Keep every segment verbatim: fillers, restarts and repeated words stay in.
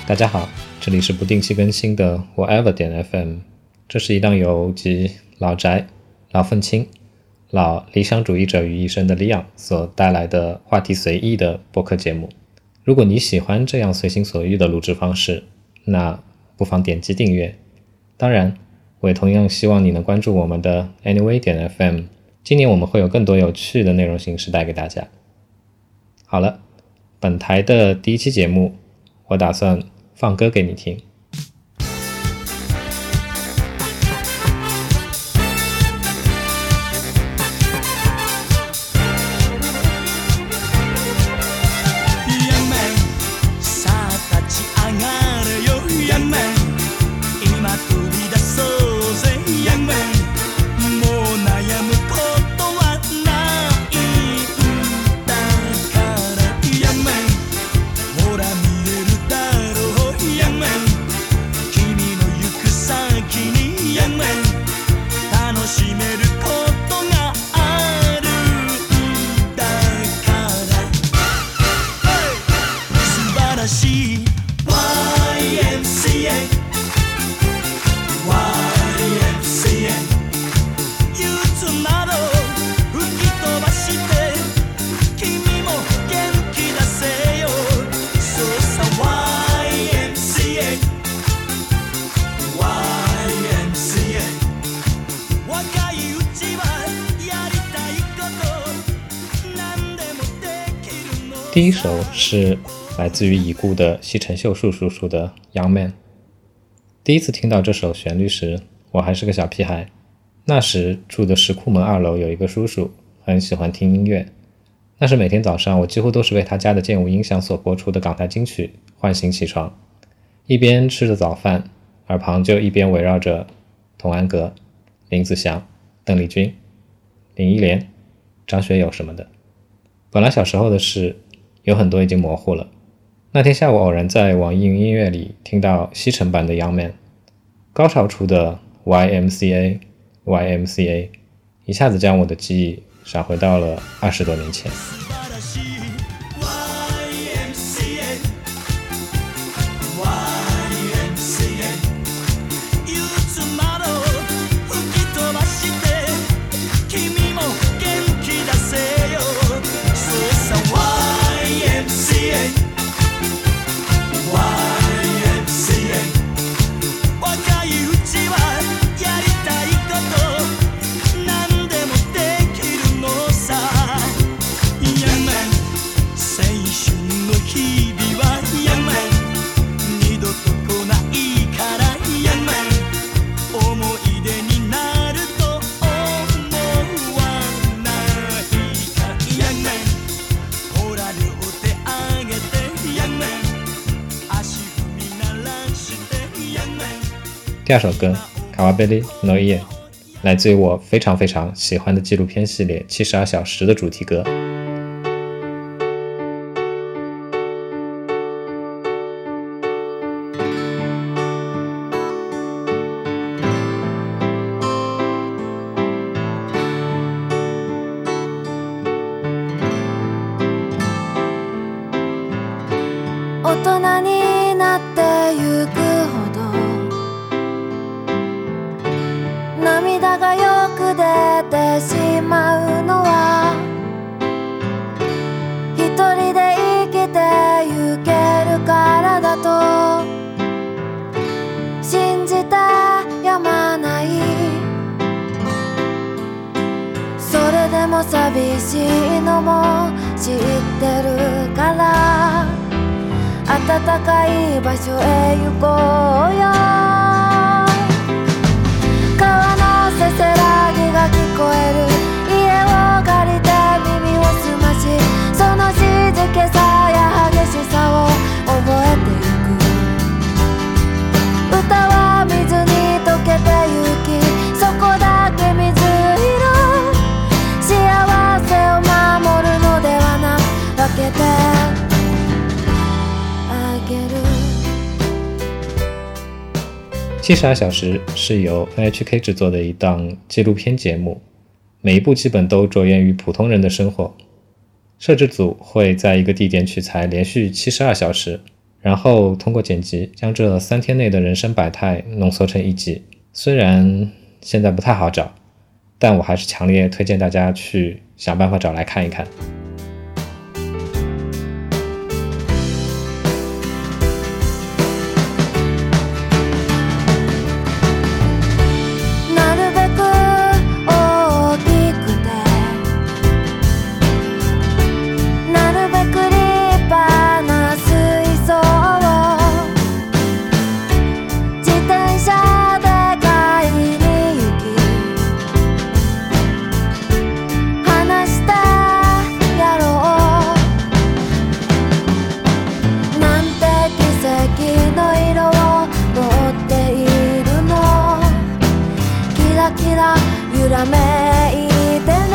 大家好，这里是不定期更新的 Whatever 点 F M， 这是一档由集老宅、老愤青、老理想主义者于一身的利昂所带来的话题随意的播客节目。如果你喜欢这样随心所欲的录制方式，那不妨点击订阅。当然，我也同样希望你能关注我们的 Anyway 点 F M， 今年我们会有更多有趣的内容形式带给大家。好了，本台的第一期节目，我打算放歌给你听。第一首是来自于已故的西城秀树叔叔的 Young Man。 第一次听到这首旋律时，我还是个小屁孩。那时住的石库门二楼有一个叔叔，很喜欢听音乐。那时每天早上我几乎都是被他家的健舞音响所播出的港台金曲唤醒起床，一边吃着早饭，耳旁就一边围绕着童安格、林子祥、邓丽君、林忆莲、张学友什么的。本来小时候的事有很多已经模糊了。那天下午偶然在网易云音乐里听到西城版的 Young Man， 高潮处的 Y M C A Y M C A 一下子将我的记忆闪回到了二十多年前。第二首歌卡瓦贝利诺伊，来自于我非常非常喜欢的纪录片系列七十二小时的主题歌。 寂しいのも知ってるから暖かい場所へ行こうよ。川のせせらぎが聞こえる家を借りて耳を澄まし、その静けさや激しさを覚えてゆく。歌は水に溶けてゆき、そこだけ水色、幸せを守るのではな分けてあげる。 七十二小时是由 N H K 制作的一档纪录片节目，每一部基本都着眼于普通人的生活。摄制组会在一个地点取材连续七十二小时， 然后通过剪辑将这三天内的人生百态浓缩成一集。虽然现在不太好找，但我还是强烈推荐大家去想办法找来看一看。 揺らめいてる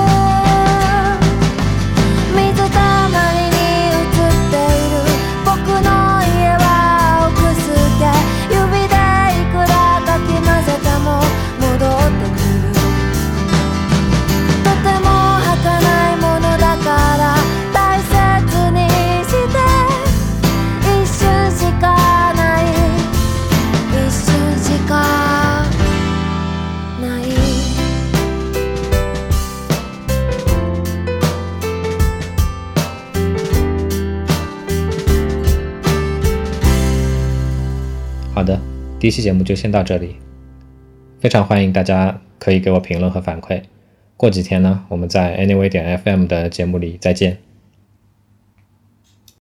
水たまりに映っている僕の家は奥すけ指でいくらかき混ぜても戻ってくるとても儚いものだから大切にして一瞬しかない一瞬しかない好的，第一期节目就先到这里，非常欢迎大家可以给我评论和反馈。过几天呢，我们在 Anyway 点 F M 的节目里再见。